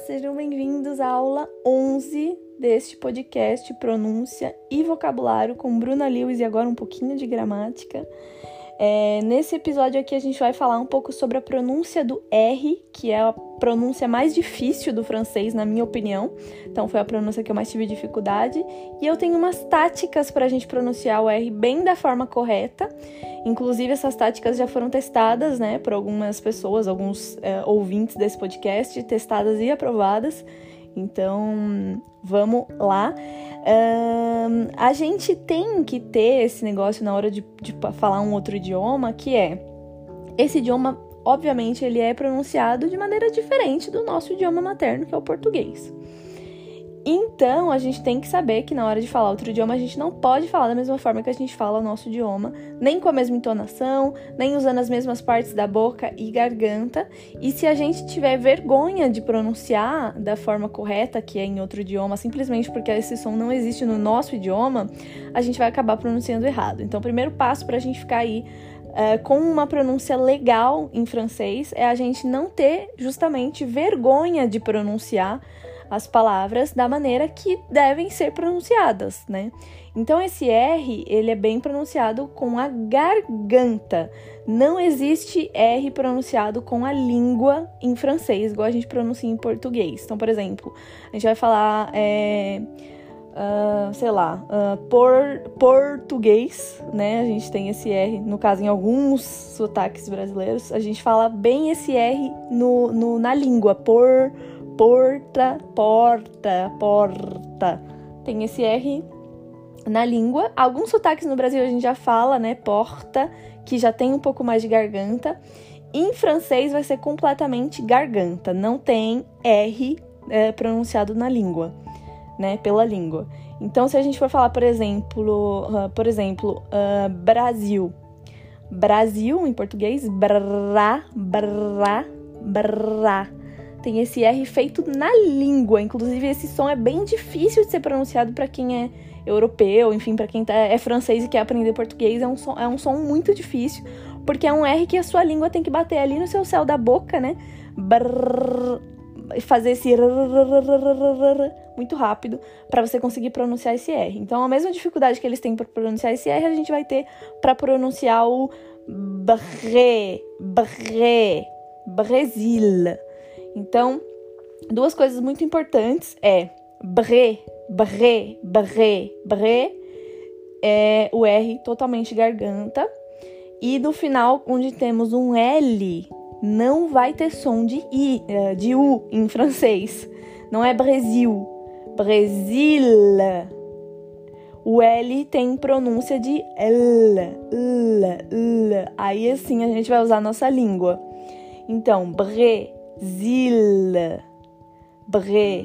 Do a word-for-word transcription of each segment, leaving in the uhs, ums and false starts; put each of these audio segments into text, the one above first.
sejam bem-vindos à aula onze deste podcast Pronúncia e Vocabulário com Bruna Lewis e agora um pouquinho de gramática. É, nesse episódio aqui a gente vai falar um pouco sobre a pronúncia do R, que é a pronúncia mais difícil do francês, na minha opinião. Então foi a pronúncia que eu mais tive dificuldade. E eu tenho umas táticas para a gente pronunciar o R bem da forma correta. Inclusive essas táticas já foram testadas, né, por algumas pessoas, alguns é, ouvintes desse podcast, testadas e aprovadas. Então, vamos lá. Um, a gente tem que ter esse negócio na hora de, de falar um outro idioma, que é... Esse idioma, obviamente, ele é pronunciado de maneira diferente do nosso idioma materno, que é o português. Então, a gente tem que saber que na hora de falar outro idioma, a gente não pode falar da mesma forma que a gente fala o nosso idioma, nem com a mesma entonação, nem usando as mesmas partes da boca e garganta. E se a gente tiver vergonha de pronunciar da forma correta, que é em outro idioma, simplesmente porque esse som não existe no nosso idioma, a gente vai acabar pronunciando errado. Então, o primeiro passo para a gente ficar aí Uh, com uma pronúncia legal em francês é a gente não ter justamente vergonha de pronunciar as palavras da maneira que devem ser pronunciadas, né? Então esse R, ele é bem pronunciado com a garganta. Não existe R pronunciado com a língua em francês, igual a gente pronuncia em português. Então, por exemplo, a gente vai falar... É... Uh, sei lá, uh, por, português, né? A gente tem esse R, no caso, em alguns sotaques brasileiros, a gente fala bem esse R no, no, na língua. Por, porta, porta, porta. Tem esse R na língua. Alguns sotaques no Brasil a gente já fala, né? Porta, que já tem um pouco mais de garganta. Em francês vai ser completamente garganta. Não tem R é, pronunciado na língua. Né, pela língua. Então, se a gente for falar, por exemplo, uh, por exemplo, uh, Brasil. Brasil, em português, brá, brá, brá. Tem esse R feito na língua. Inclusive, esse som é bem difícil de ser pronunciado para quem é europeu, enfim, para quem tá, é francês e quer aprender português. É um, som, é um som muito difícil, porque é um R que a sua língua tem que bater ali no seu céu da boca, né? Brrr, fazer esse muito rápido para você conseguir pronunciar esse R. Então, a mesma dificuldade que eles têm para pronunciar esse R, a gente vai ter para pronunciar o bré, bré, Brasil. Então, duas coisas muito importantes é bré, bré, bré, bré, é o R totalmente garganta. E no final, onde temos um L, não vai ter som de I, de U em francês. Não é Brasil. Brasil. O L tem pronúncia de L. L. L. Aí assim a gente vai usar a nossa língua. Então, Brasil. Brasil.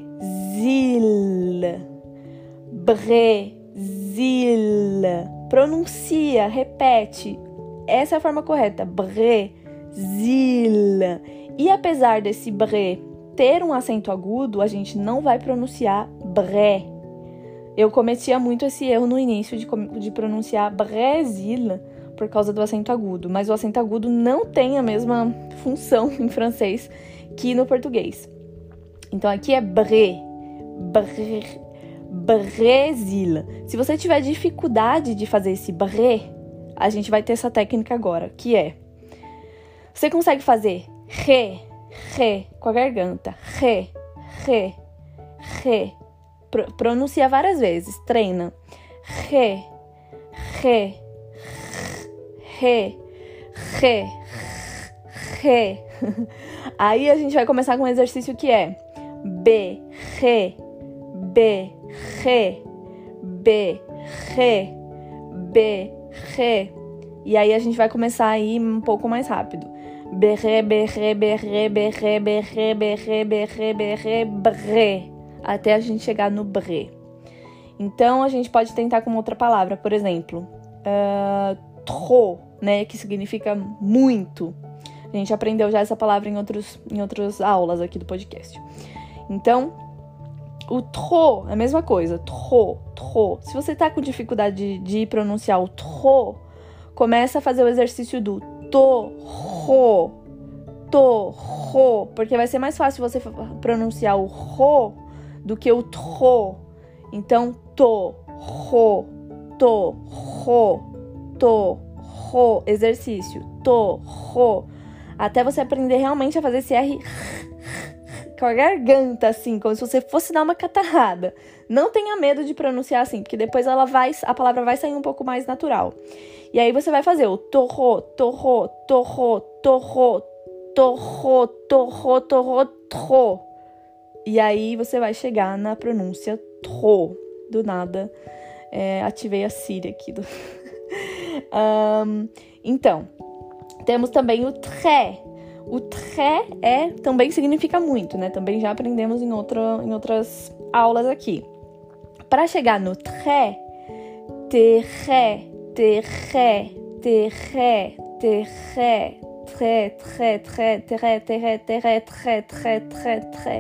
Brasil. Pronuncia, repete. Essa é a forma correta. Brasil. E apesar desse bré ter um acento agudo, a gente não vai pronunciar bré. Eu cometia muito esse erro no início de, de pronunciar Brasil por causa do acento agudo, mas o acento agudo não tem a mesma função em francês que no português. Então aqui é bré, bré, Brasil. Se você tiver dificuldade de fazer esse bré, a gente vai ter essa técnica agora, que é: você consegue fazer ré, ré com a garganta, ré, ré, ré. Pro, pronuncia várias vezes, treina. Ré, ré, ré, ré, ré. Aí a gente vai começar com um exercício que é B, ré, B, ré, B, ré, B, ré. E aí a gente vai começar a ir um pouco mais rápido. Berré, berré, berré, berré, berré, berré, berré, berré, bré. Até a gente chegar no bré. Então, a gente pode tentar com outra palavra. Por exemplo, uh, trop, né? Que significa muito. A gente aprendeu já essa palavra em, outros, em outras aulas aqui do podcast. Então, o trop é a mesma coisa. Trop, trop. Se você tá com dificuldade de, de pronunciar o trop, começa a fazer o exercício do to, ro, to, ro, porque vai ser mais fácil você pronunciar o ro do que o tro. Então, to, ro, to, ro, to, ro, exercício, to, ro, até você aprender realmente a fazer esse R com a garganta, assim, como se você fosse dar uma catarrada. Não tenha medo de pronunciar assim, porque depois ela vai, a palavra vai sair um pouco mais natural. E aí você vai fazer o torro, torro, torro, torro, torro, torro, torro, tro. E aí você vai chegar na pronúncia tro. Do nada, é, ativei a Siri aqui. Do... um, então, temos também o tré. O tré é, também significa muito, né? Também já aprendemos em, outra, em outras aulas aqui. Para chegar no tré, terré, terré, terré, terré, tré, tré, tré, terré, terré, terré, tré, tré, tré, tré.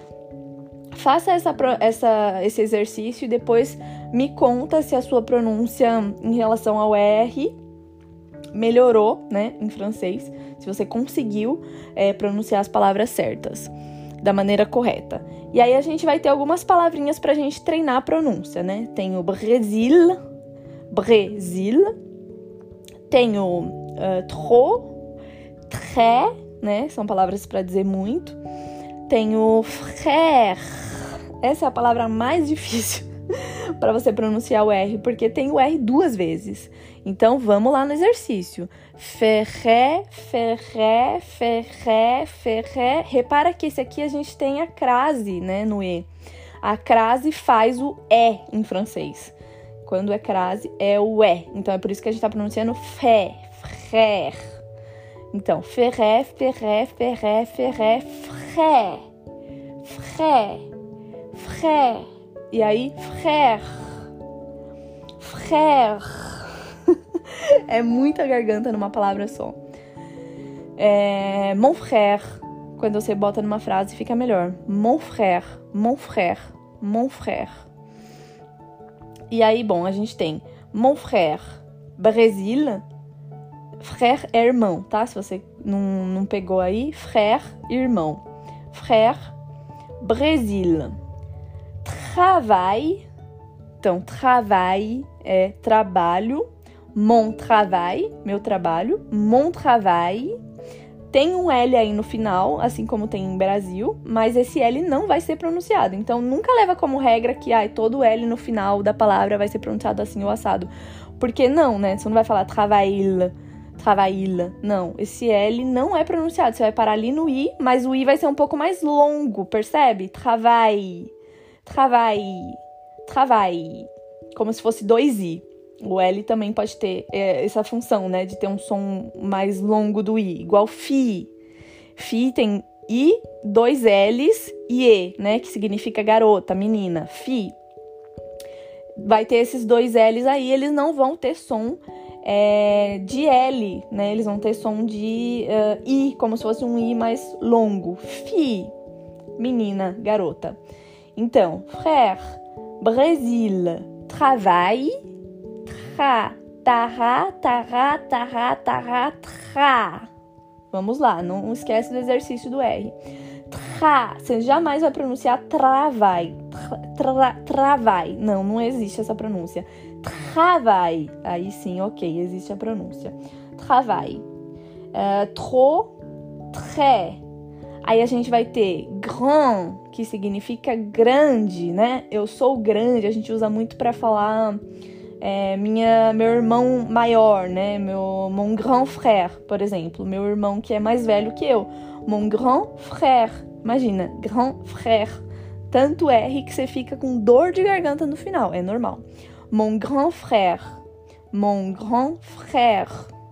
Faça essa, essa, esse exercício e depois me conta se a sua pronúncia em relação ao R melhorou, né, em francês, se você conseguiu é, pronunciar as palavras certas, da maneira correta. E aí a gente vai ter algumas palavrinhas pra gente treinar a pronúncia, né? Tem o Brasil, Brasil, tem o uh, trop, très, né? São palavras para dizer muito. Tem o frère, essa é a palavra mais difícil para você pronunciar o R, porque tem o R duas vezes. Então, vamos lá no exercício. Ferré, ferré, ferré, ferré. Repara que esse aqui a gente tem a crase, né, no E. A crase faz o E em francês. Quando é crase, é o E. Então, é por isso que a gente está pronunciando fé, frère. Então, ferré, ferré, ferré, ferré, frère, frère, frère. E aí, frère, frère. É muita garganta numa palavra só. É, mon frère. Quando você bota numa frase, fica melhor. Mon frère, mon frère, mon frère. E aí, bom, a gente tem mon frère, Brasil. Frère é irmão, tá? Se você não, não pegou aí, frère, irmão. Frère, Brasil. Travail. Então, travail é trabalho. Mon travail, meu trabalho. Mon travail. Tem um L aí no final, assim como tem em Brasil, mas esse L não vai ser pronunciado. Então, nunca leva como regra que ah, todo L no final da palavra vai ser pronunciado assim ou assado. Porque não, né? Você não vai falar travail, travail. Não, esse L não é pronunciado. Você vai parar ali no I, mas o I vai ser um pouco mais longo, percebe? Travail, travail, travail. Como se fosse dois I. O L também pode ter é, essa função, né? De ter um som mais longo do I. Igual fi. Fi tem I, dois L's e E, né? Que significa garota, menina. Fi. Vai ter esses dois L's aí. Eles não vão ter som é, de L, né? Eles vão ter som de uh, I, como se fosse um I mais longo. Fi. Menina, garota. Então, frère, Brasil, travail. Tra, tará, tará, tará, tará, tra. Vamos lá, não esquece do exercício do R. Tra, você jamais vai pronunciar travai. Tra, tra, travai. Não, não existe essa pronúncia. Travai. Aí sim, ok, existe a pronúncia. Travai. Uh, trop, très. Aí a gente vai ter grand, que significa grande, né? Eu sou grande, a gente usa muito para falar... É, minha, meu irmão maior, né? Meu, mon grand frère, por exemplo. Meu irmão que é mais velho que eu. Mon grand frère. Imagina, grand frère. Tanto R que você fica com dor de garganta no final. É normal. Mon grand frère. Mon grand frère.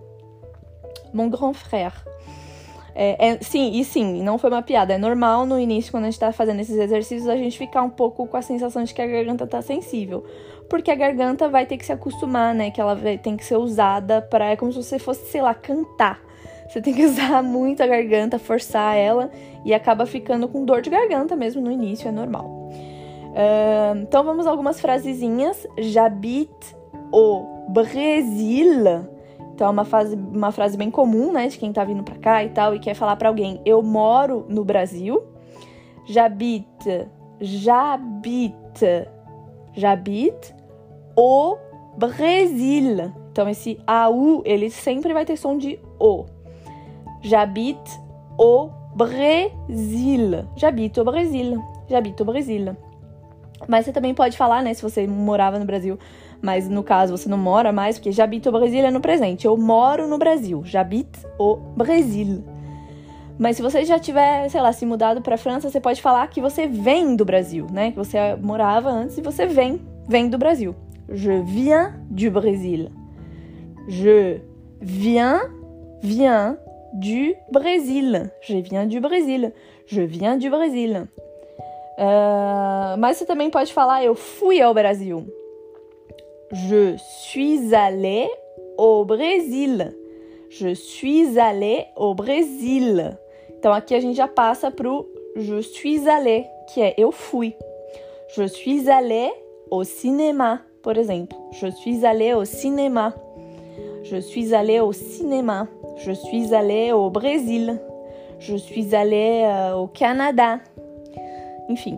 Mon grand frère. É, é, sim, e sim, não foi uma piada. É normal no início, quando a gente tá fazendo esses exercícios, a gente ficar um pouco com a sensação de que a garganta tá sensível. Porque a garganta vai ter que se acostumar, né? Que ela vai, tem que ser usada para... É como se você fosse, sei lá, cantar. Você tem que usar muito a garganta, forçar ela. E acaba ficando com dor de garganta mesmo no início, é normal. Uh, então, vamos a algumas frasezinhas. J'habite au Brésil. Então é uma frase, uma frase bem comum, né, de quem tá vindo pra cá e tal, e quer falar pra alguém, eu moro no Brasil. J'habite, j'habite, j'habite au Brésil. Então esse A U, ele sempre vai ter som de O. J'habite au Brésil. J'habite au Brésil. J'habite au Brésil. Mas você também pode falar, né, se você morava no Brasil, mas no caso você não mora mais, porque j'habite au Brésil é no presente. Eu moro no Brasil. J'habite au Brésil. Mas se você já tiver, sei lá, se mudado pra França, você pode falar que você vem do Brasil, né? Que você morava antes e você vem, vem do Brasil. Je viens du Brésil. Je viens, viens du Brésil. Je viens du Brésil. Je viens du Brésil. Uh, mas você também pode falar, eu fui ao Brasil. Je suis allé au Brésil. Je suis allé au Brésil. Então aqui a gente já passa pro je suis allé, que é eu fui. Je suis allé au cinéma, por exemplo. Je suis allé au cinéma. Je suis allé au cinéma. Je suis allé au Brésil. Je suis allé uh, au Canada. Enfim.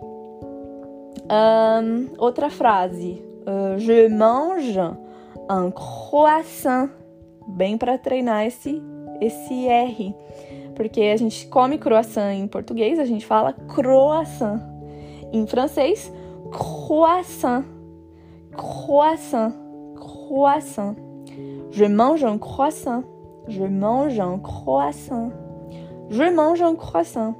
Um, outra frase. Uh, je mange un croissant. Bem para treinar esse, esse R. Porque a gente come croissant em português, a gente fala croissant. Em francês, croissant. Croissant. Croissant. Je mange un croissant. Je mange un croissant. Je mange un croissant.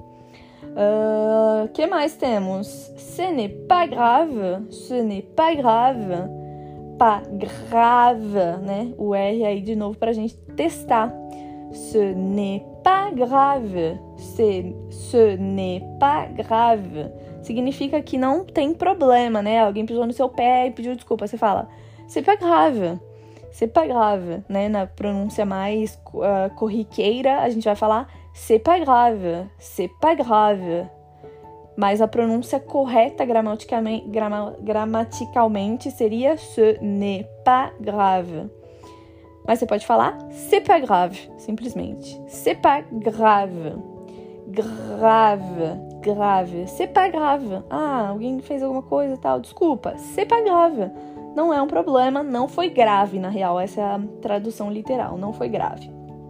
Uh, que mais temos? Ce n'est pas grave. Ce n'est pas grave. Pas grave, né? O R aí de novo pra gente testar. Ce n'est pas grave. Ce, ce n'est pas grave. Significa que não tem problema, né? Alguém pisou no seu pé e pediu desculpa. Você fala, c'est pas grave. C'est pas grave, né? Na pronúncia mais uh, corriqueira, a gente vai falar c'est pas grave. C'est pas grave. Mas a pronúncia correta gramaticalmente, grama, gramaticalmente seria ce n'est pas grave. Mas você pode falar c'est pas grave, simplesmente. C'est pas grave. Grave, grave. C'est pas grave. Ah, alguém fez alguma coisa e tal. Desculpa, c'est pas grave. Não é um problema, não foi grave, na real. Essa é a tradução literal, não foi grave.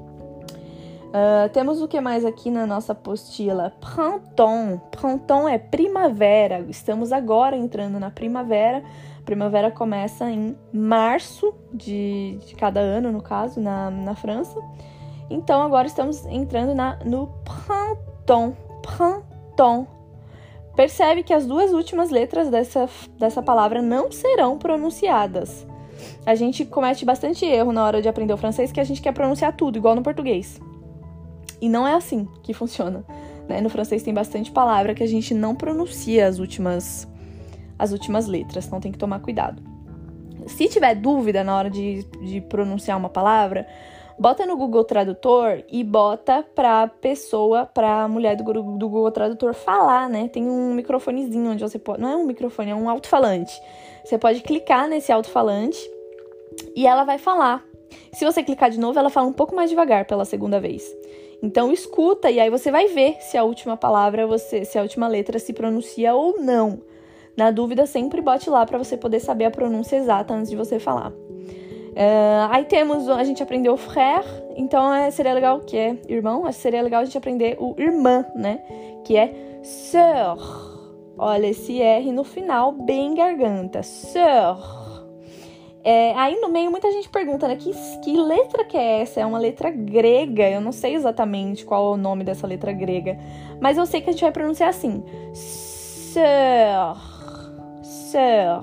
Uh, temos o que mais aqui na nossa apostila? Printemps. Printemps é primavera. Estamos agora entrando na primavera. A primavera começa em março de, de cada ano, no caso, na, na França. Então, agora estamos entrando na, no printemps. Printemps. Percebe que as duas últimas letras dessa, dessa palavra não serão pronunciadas. A gente comete bastante erro na hora de aprender o francês, que a gente quer pronunciar tudo, igual no português. E não é assim que funciona, né? No francês tem bastante palavra que a gente não pronuncia as últimas, as últimas letras, então tem que tomar cuidado. Se tiver dúvida na hora de, de pronunciar uma palavra, bota no Google Tradutor e bota pra pessoa, pra mulher do, do Google Tradutor falar, né? Tem um microfonezinho onde você pode... Não é um microfone, é um alto-falante. Você pode clicar nesse alto-falante e ela vai falar. Se você clicar de novo, ela fala um pouco mais devagar pela segunda vez. Então, escuta e aí você vai ver se a última palavra, você, se a última letra se pronuncia ou não. Na dúvida, sempre bote lá para você poder saber a pronúncia exata antes de você falar. Uh, aí temos, a gente aprendeu frère, então é, seria legal, que é irmão, seria legal a gente aprender o irmã, né? Que é sœur. Olha, esse R no final, bem garganta. Sœur. É, aí no meio muita gente pergunta, né, que, que letra que é essa? É uma letra grega, eu não sei exatamente qual é o nome dessa letra grega, mas eu sei que a gente vai pronunciar assim. Sœur, sœur,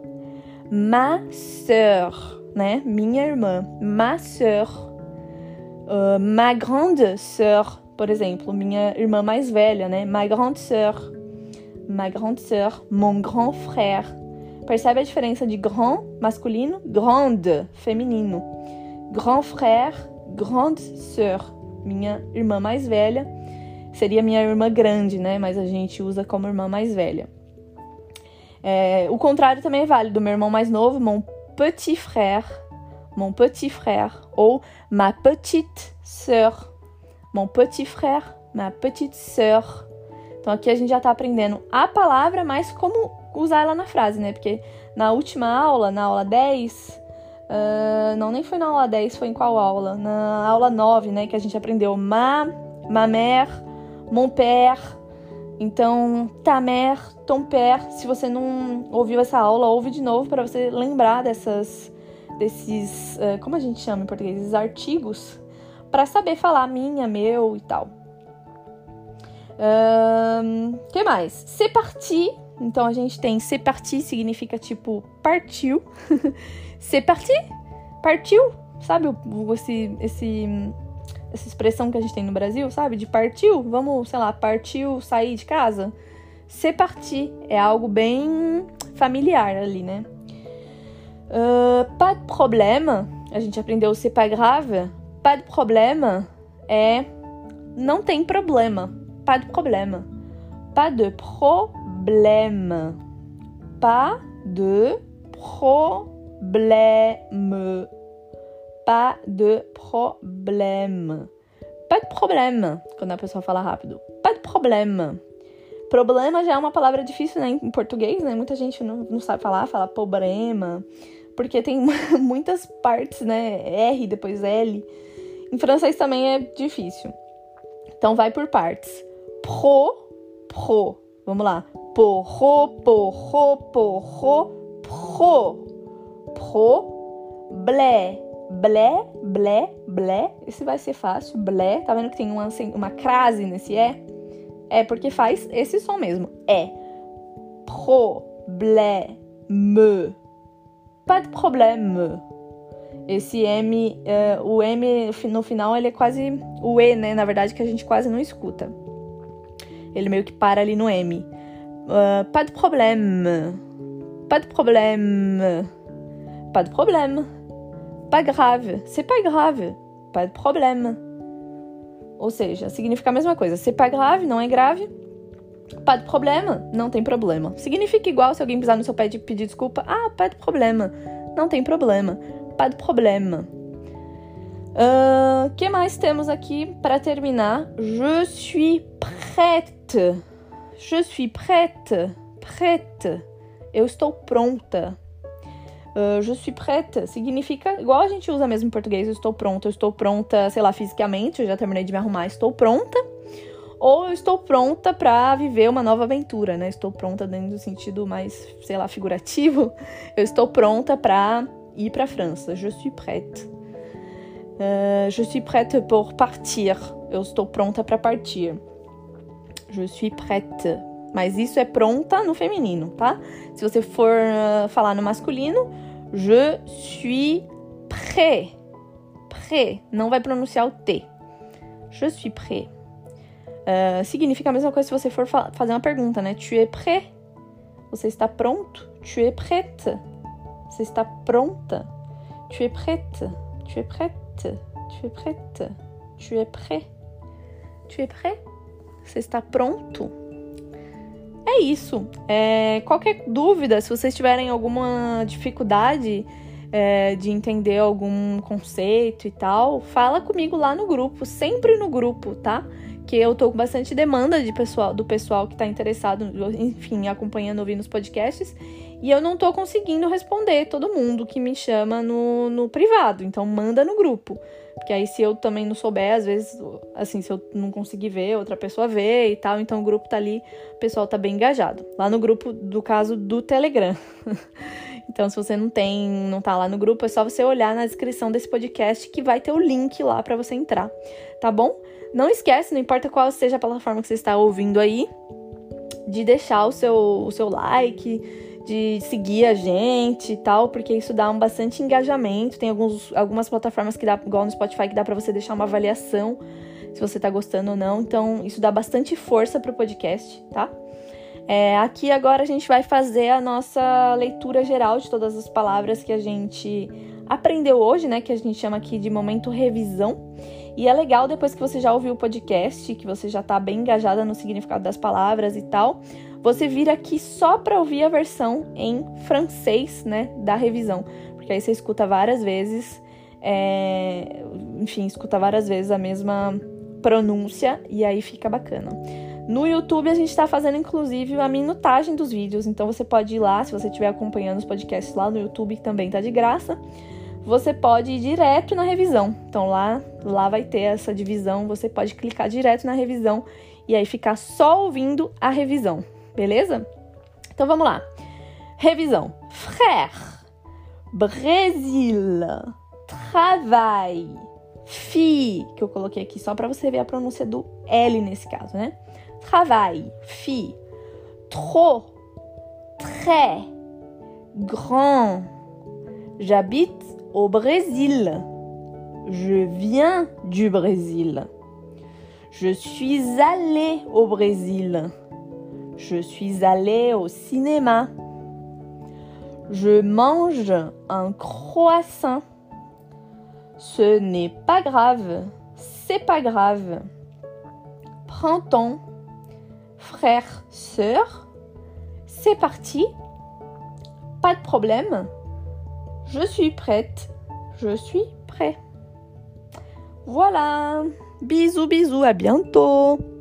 ma sœur, né, minha irmã, ma sœur, uh, ma grande sœur, por exemplo, minha irmã mais velha, né, ma grande sœur, ma grande sœur, mon grand frère. Percebe a diferença de grand, masculino, grande, feminino. Grand frère, grande sœur. Minha irmã mais velha seria minha irmã grande, né? Mas a gente usa como irmã mais velha. É, o contrário também é válido. Meu irmão mais novo, mon petit frère. mon petit frère, ou ma petite sœur. Mon petit frère, ma petite sœur. Então aqui a gente já tá aprendendo a palavra, mas como usar ela na frase, né? Porque na última aula, na aula dez, uh, não, nem foi na aula dez, foi em qual aula? Na aula nove, né? Que a gente aprendeu ma, ma mère, mon père. Então, ta mère, ton père. Se você não ouviu essa aula, ouve de novo para você lembrar dessas, desses, uh, como a gente chama em português? Esses artigos, para saber falar minha, meu e tal. Um, que mais? C'est parti. Então a gente tem c'est parti, significa tipo partiu. C'est parti? Partiu? Sabe esse, esse, essa expressão que a gente tem no Brasil, sabe? De partiu? Vamos, sei lá, partiu sair de casa? C'est parti é algo bem familiar ali, né? Uh, pas de problème. A gente aprendeu c'est pas grave. Pas de problème é não tem problema. Pas de problème. Pas de problème. Pas de problème. Pas de problème. Pas de problème. Quando a pessoa fala rápido. Pas de problème. Problema já é uma palavra difícil, né, em português, né? Muita gente não, não sabe falar, fala problema. Porque tem muitas partes, né? R, depois L. Em francês também é difícil. Então vai por partes. Pro, pro. Vamos lá. Porro, porro, porro, pro. Pro, blé. Blé, blé, blé. Esse vai ser fácil. Blé. Tá vendo que tem uma, uma crase nesse é? É porque faz esse som mesmo. É. Pro, blé, me. Pas de problème. Esse M, uh, o M no final, ele é quase o E, né? Na verdade, que a gente quase não escuta. Ele meio que para ali no M. Uh, pas de problème. Pas de problème. Pas de problème. Pas grave. C'est pas grave. Pas de problème. Ou seja, significa a mesma coisa. C'est pas grave, não é grave. Pas de problème, não tem problema. Significa igual se alguém pisar no seu pé e pedir desculpa. Ah, pas de problème. Não tem problema. Pas de problème. O uh, que mais temos aqui para terminar? Je suis prête. Je suis prête. Prête. Eu estou pronta. Uh, je suis prête significa, igual a gente usa mesmo em português, eu estou pronta. Eu estou pronta, sei lá, fisicamente, eu já terminei de me arrumar, estou pronta. Ou eu estou pronta para viver uma nova aventura, né? Estou pronta dentro do sentido mais, sei lá, figurativo. Eu estou pronta para ir para a França. Je suis prête. Uh, je suis prête pour partir. Eu estou pronta para partir. Je suis prête. Mas isso é pronta no feminino, tá? Se você for uh, falar no masculino, je suis prêt. Prêt. Não vai pronunciar o T. Je suis prêt. Uh, significa a mesma coisa se você for fa- fazer uma pergunta, né? Tu es prêt? Você está pronto? Tu es prête? Você está pronta? Tu es prête? Tu es prête? Tu es prête? Tu es prêt? Tu es prêt? Você está pronto? É isso. É, qualquer dúvida, se vocês tiverem alguma dificuldade é, de entender algum conceito e tal, fala comigo lá no grupo, sempre no grupo, tá? Que eu tô com bastante demanda de pessoal, do pessoal que tá interessado, enfim, acompanhando, ouvindo os podcasts, e eu não tô conseguindo responder todo mundo que me chama no, no privado, então manda no grupo, porque aí se eu também não souber, às vezes, assim, se eu não conseguir ver, outra pessoa vê e tal, então o grupo tá ali, o pessoal tá bem engajado, lá no grupo, do caso do Telegram. Então, se você não tem, não tá lá no grupo, é só você olhar na descrição desse podcast que vai ter o link lá pra você entrar, tá bom? Não esquece, não importa qual seja a plataforma que você está ouvindo aí, de deixar o seu, o seu like, de seguir a gente e tal, porque isso dá um bastante engajamento. Tem alguns, algumas plataformas que dá, igual no Spotify, que dá pra você deixar uma avaliação, se você tá gostando ou não. Então, isso dá bastante força pro podcast, tá? É, aqui agora a gente vai fazer a nossa leitura geral de todas as palavras que a gente aprendeu hoje, né? Que a gente chama aqui de momento revisão. E é legal, depois que você já ouviu o podcast, que você já tá bem engajada no significado das palavras e tal, você vir aqui só pra ouvir a versão em francês, né, da revisão. Porque aí você escuta várias vezes É, enfim, escuta várias vezes a mesma pronúncia e aí fica bacana. No YouTube a gente está fazendo inclusive a minutagem dos vídeos, então você pode ir lá, se você estiver acompanhando os podcasts lá no YouTube, que também tá de graça, você pode ir direto na revisão. Então lá, lá vai ter essa divisão, você pode clicar direto na revisão e aí ficar só ouvindo a revisão, beleza? Então vamos lá. Revisão. Frère, Brésil, travail, fille, que eu coloquei aqui só para você ver a pronúncia do L nesse caso, né? Travail, fille, trop, très, grand, j'habite au Brésil, je viens du Brésil, je suis allée au Brésil, je suis allée au cinéma, je mange un croissant, ce n'est pas grave, c'est pas grave, printemps, frère, sœur, c'est parti, pas de problème, je suis prête, je suis prêt. Voilà, bisous bisous, à bientôt.